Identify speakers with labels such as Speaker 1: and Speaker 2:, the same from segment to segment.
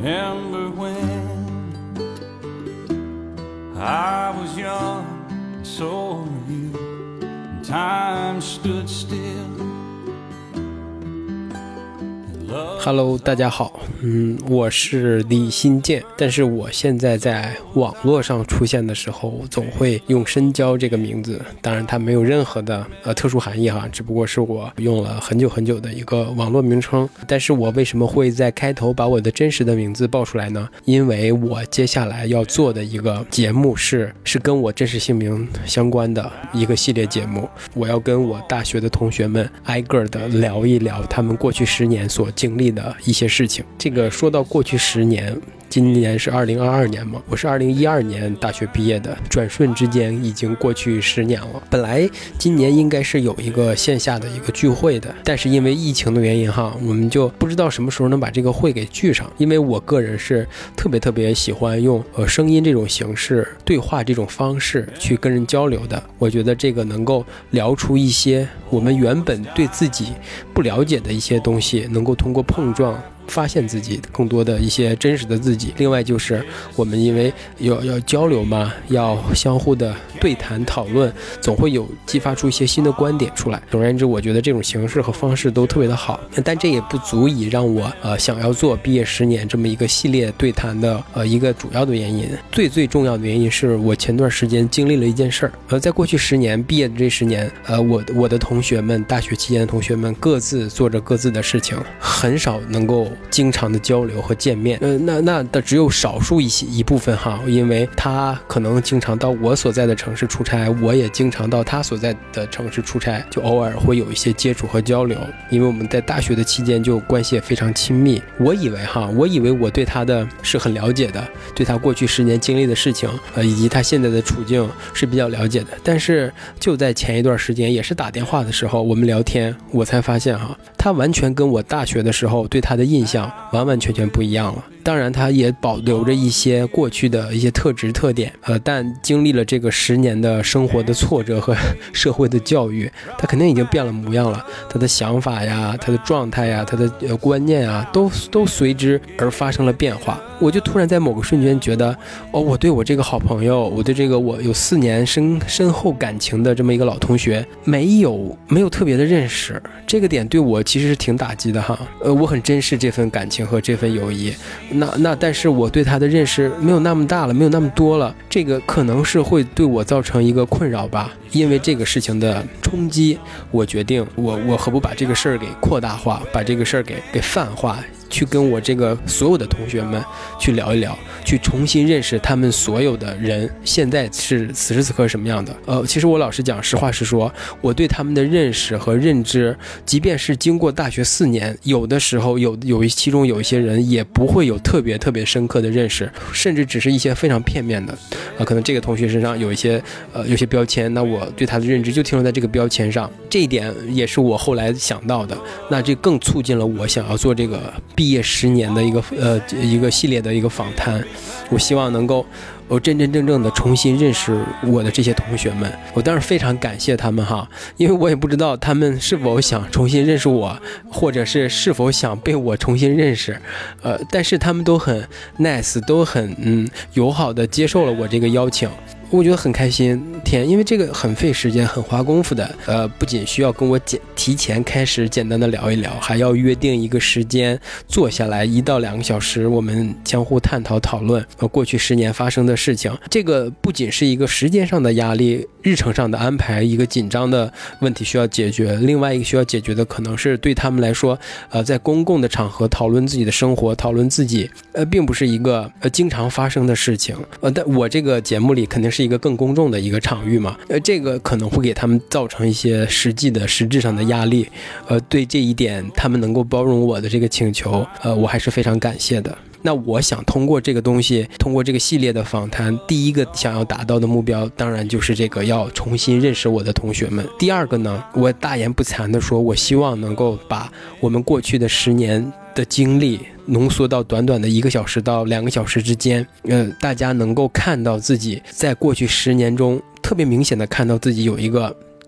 Speaker 1: remember when I was young and so were you, and time stood still.Hello， 大家好，我是李新建，但是我现在在网络上出现的时候，总会用深交这个名字，当然它没有任何的特殊含义哈，只不过是我用了很久很久的一个网络名称。但是我为什么会在开头把我的真实的名字报出来呢？因为我接下来要做的一个节目是跟我真实姓名相关的一个系列节目，我要跟我大学的同学们挨个的聊一聊他们过去10年所经历的一些事情。这个说到过去10年，今年是2022年嘛，我是2012年大学毕业的，转瞬之间已经过去10年了。本来今年应该是有一个线下的一个聚会的，但是因为疫情的原因哈，我们就不知道什么时候能把这个会给聚上。因为我个人是特别喜欢用声音这种形式、对话这种方式去跟人交流的。我觉得这个能够聊出一些我们原本对自己不了解的一些东西，能够通过碰撞发现自己更多的一些真实的自己。另外就是我们因为要交流嘛，要相互的对谈讨论，总会有激发出一些新的观点出来。总而言之，我觉得这种形式和方式都特别的好，但这也不足以让我想要做毕业10年这么一个系列对谈的一个主要的原因。最重要的原因是我前段时间经历了一件事儿。在过去10年毕业的这10年，我的同学们，大学期间的同学们各自做着各自的事情，很少能够经常的交流和见面。那只有少数一部分哈，因为他可能经常到我所在的城市出差，我也经常到他所在的城市出差，就偶尔会有一些接触和交流。因为我们在大学的期间就关系也非常亲密，我以为我对他的是很了解的，对他过去10年经历的事情以及他现在的处境是比较了解的。但是就在前一段时间，也是打电话的时候我们聊天，我才发现他完全跟我大学的时候对他的印象完全不一样了。当然他也保留着一些过去的一些特质特点，但经历了这个10年的生活的挫折和社会的教育，他肯定已经变了模样了。他的想法呀，他的状态呀，他的观念啊，都随之而发生了变化。我就突然在某个瞬间觉得，我对我这个好朋友，我对这个我有4年深厚感情的这么一个老同学，没有特别的认识，这个点对我其实是挺打击的哈。我很珍视这份感情和这份友谊，但是我对他的认识没有那么大了，没有那么多了，这个可能是会对我造成一个困扰吧。因为这个事情的冲击，我决定我何不把这个事儿给扩大化，把这个事儿给泛化，去跟我这个所有的同学们去聊一聊，去重新认识他们所有的人现在是此时此刻什么样的。其实我老实讲，实话实说，我对他们的认识和认知，即便是经过大学4年，有的时候其中有一些人也不会有特别深刻的认识，甚至只是一些非常片面的。可能这个同学身上有一些标签，那我对他的认知就停留在这个标签上。这一点也是我后来想到的，那这更促进了我想要做这个毕业10年的一个系列的一个访谈。我希望能够真正的重新认识我的这些同学们。我当然非常感谢他们哈，因为我也不知道他们是否想重新认识我，或者是否想被我重新认识。但是他们都很 nice， 都很友好的接受了我这个邀请。我觉得很开心，因为这个很费时间，很花功夫的。不仅需要跟我提前开始简单的聊一聊，还要约定一个时间，坐下来1到2个小时，我们相互探讨讨论过去10年发生的事情。这个不仅是一个时间上的压力，日程上的安排，一个紧张的问题需要解决。另外一个需要解决的可能是对他们来说，在公共的场合讨论自己的生活，讨论自己，并不是一个经常发生的事情。但我这个节目里肯定是一个更公众的一个场域嘛，这个可能会给他们造成一些实质上的压力。对这一点，他们能够包容我的这个请求，我还是非常感谢的。那我想通过这个东西，通过这个系列的访谈，第一个想要达到的目标当然就是这个要重新认识我的同学们。第二个呢，我大言不惭的说，我希望能够把我们过去的10年的经历浓缩到短短的1个小时到2个小时之间，大家能够看到自己在过去10年中特别明显的看到自己有一个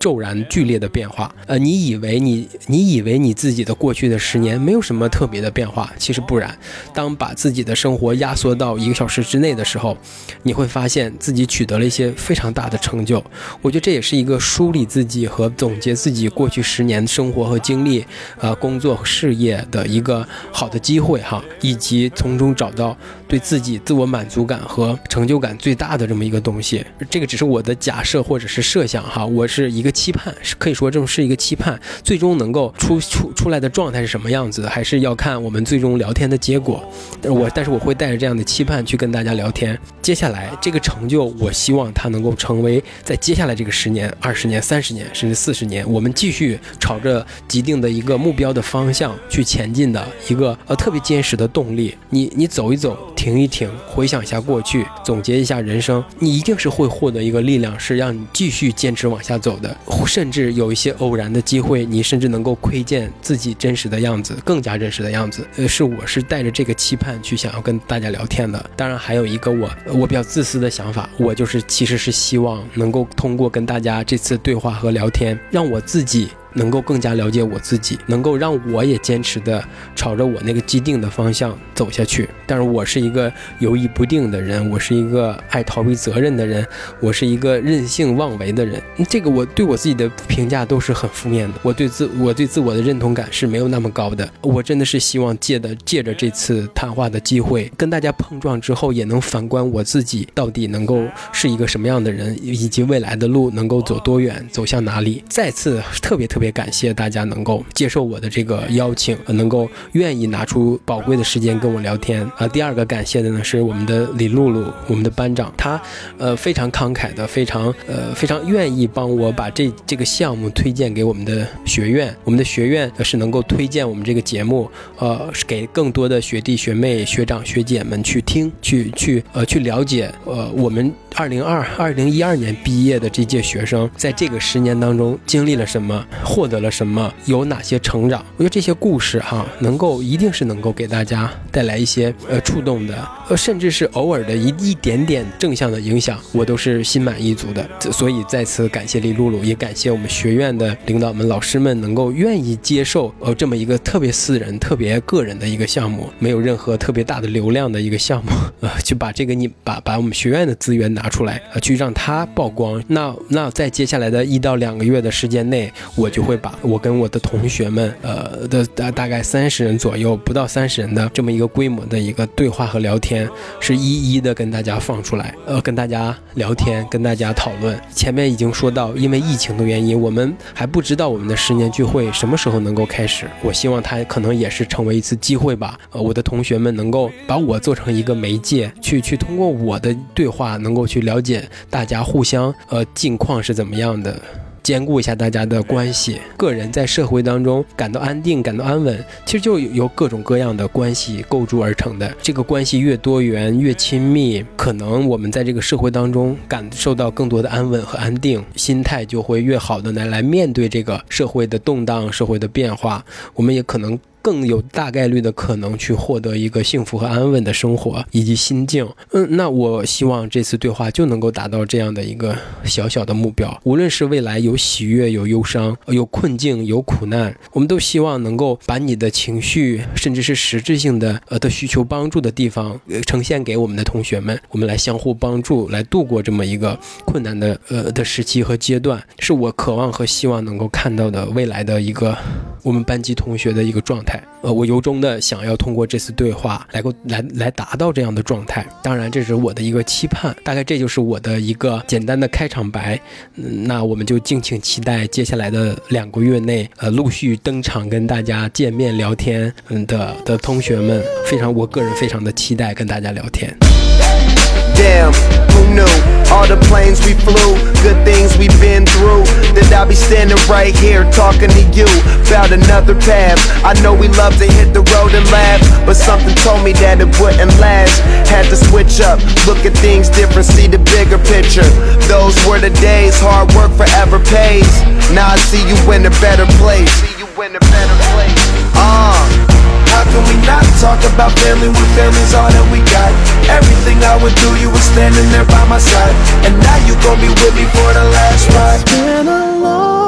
Speaker 1: 骤然剧烈的变化。你以为你自己的过去的10年没有什么特别的变化，其实不然。当把自己的生活压缩到1个小时之内的时候，你会发现自己取得了一些非常大的成就。我觉得这也是一个梳理自己和总结自己过去10年生活和经历，工作和事业的一个好的机会哈，以及从中找到对自己自我满足感和成就感最大的这么一个东西。这个只是我的假设或者是设想哈，我是一个期盼，可以说这种是一个期盼，最终能够出来的状态是什么样子，还是要看我们最终聊天的结果。但是我会带着这样的期盼去跟大家聊天。接下来这个成就，我希望它能够成为在接下来这个10年、20年、30年甚至40年，我们继续朝着既定的一个目标的方向去前进的一个特别坚实的动力。你走一走，停一停，回想一下过去，总结一下人生，你一定是会获得一个力量，是让你继续坚持往下走的。甚至有一些偶然的机会，你甚至能够窥见自己真实的样子，更加真实的样子。我是带着这个期盼去想要跟大家聊天的。当然还有一个我比较自私的想法，我其实是希望能够通过跟大家这次对话和聊天，让我自己能够更加了解我自己，能够让我也坚持的朝着我那个既定的方向走下去。但是我是一个犹豫不定的人，我是一个爱逃避责任的人，我是一个任性妄为的人。这个我对我自己的评价都是很负面的，我对自我的认同感是没有那么高的。我真的是希望借着这次谈话的机会，跟大家碰撞之后，也能反观我自己到底能够是一个什么样的人，以及未来的路能够走多远，走向哪里。再次特别感谢大家能够接受我的这个邀请，能够愿意拿出宝贵的时间跟我聊天。第二个感谢的呢是我们的李露露，我们的班长，他非常慷慨的，非常愿意帮我把这个项目推荐给我们的学院。我们的学院是能够推荐我们这个节目，给更多的学弟学妹、学长学姐们去听，去了解我们2012年毕业的这届学生在这个10年当中经历了什么，获得了什么，有哪些成长。我觉得这些故事哈，一定是能够给大家带来一些触动的，甚至是偶尔的一点点正向的影响，我都是心满意足的。所以再次感谢李露露，也感谢我们学院的领导们、老师们能够愿意接受这么一个特别私人、特别个人的一个项目，没有任何特别大的流量的一个项目，去把这个把我们学院的资源拿出来，去让它曝光。那在接下来的1到2个月的时间内，我就会把我跟我的同学们大概30人左右，不到30人的这么一个规模的一个对话和聊天，是一一的跟大家放出来，跟大家聊天，跟大家讨论。前面已经说到，因为疫情的原因，我们还不知道我们的10年聚会什么时候能够开始。我希望它可能也是成为一次机会吧，我的同学们能够把我做成一个媒介，去通过我的对话能够去了解大家互相近况是怎么样的，兼顾一下大家的关系。个人在社会当中感到安定、感到安稳，其实就由各种各样的关系构筑而成的。这个关系越多元、越亲密，可能我们在这个社会当中感受到更多的安稳和安定，心态就会越好的来面对这个社会的动荡、社会的变化。我们也可能更有大概率的可能去获得一个幸福和安稳的生活以及心境。那我希望这次对话就能够达到这样的一个小小的目标。无论是未来有喜悦、有忧伤、有困境、有苦难，我们都希望能够把你的情绪甚至是实质性的需求帮助的地方呈现给我们的同学们，我们来相互帮助，来度过这么一个困难的时期和阶段，是我渴望和希望能够看到的未来的一个我们班级同学的一个状态。我由衷的想要通过这次对话来达到这样的状态。当然这是我的一个期盼，大概这就是我的一个简单的开场白。那我们就敬请期待接下来的2个月内陆续登场跟大家见面聊天的同学们，我个人非常的期待跟大家聊天。
Speaker 2: Damn, who knew? All the planes we flew, good things we've been through. That I'll be standing right here talking to you about another path. I know we love to hit the road and laugh, but something told me that it wouldn't last. Had to switch up, look at things different, see the bigger picture. Those were the days, hard work forever pays. Now I see you in a better place. How can we not talk about family when family's all that we got? Everything I would do, you were standing there by my side, and now you gon' be with me for the last ride. It's been a long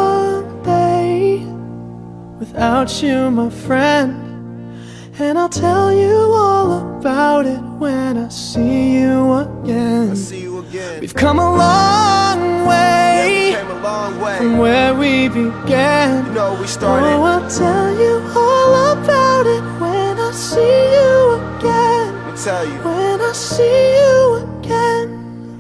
Speaker 3: without you, my friend. And I'll tell you all about it when I see you again. We've come a long way, from where we began.
Speaker 2: We started.
Speaker 3: Oh, I'll tell you all about it when I see you again.
Speaker 2: I'll tell you.
Speaker 3: When I see you again.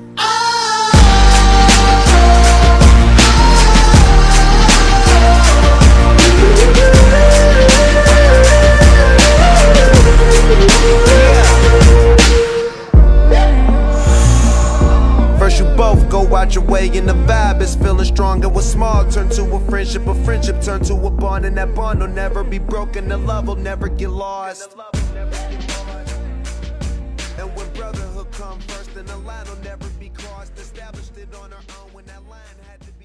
Speaker 2: First you both go out your way and the vibe is feeling strong. And what's small turn to a friendship turn to a bond. And that bond will never be broken, the love will never get lost. And when brotherhood come first, then the line will never be crossed. Established it on our own when that line had to